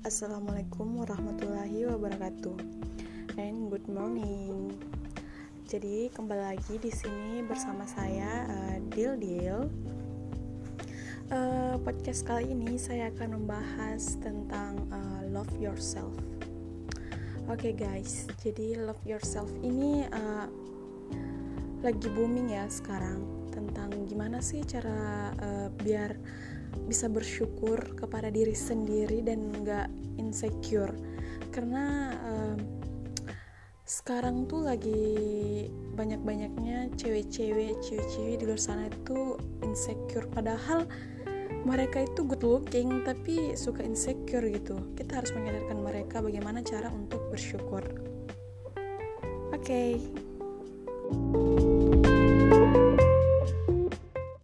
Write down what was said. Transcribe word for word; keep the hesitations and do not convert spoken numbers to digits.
Assalamualaikum warahmatullahi wabarakatuh. And good morning. Jadi kembali lagi di sini bersama saya uh, Dil Dil. Uh, podcast kali ini saya akan membahas tentang uh, love yourself. Oke okay guys, jadi love yourself ini uh, lagi booming ya sekarang, tentang gimana sih cara uh, biar bisa bersyukur kepada diri sendiri dan gak insecure. Karena uh, sekarang tuh lagi banyak-banyaknya cewek-cewek cewek-cewek di luar sana itu insecure, padahal mereka itu good looking tapi suka insecure gitu. Kita harus menyadarkan mereka bagaimana cara untuk bersyukur. Oke okay.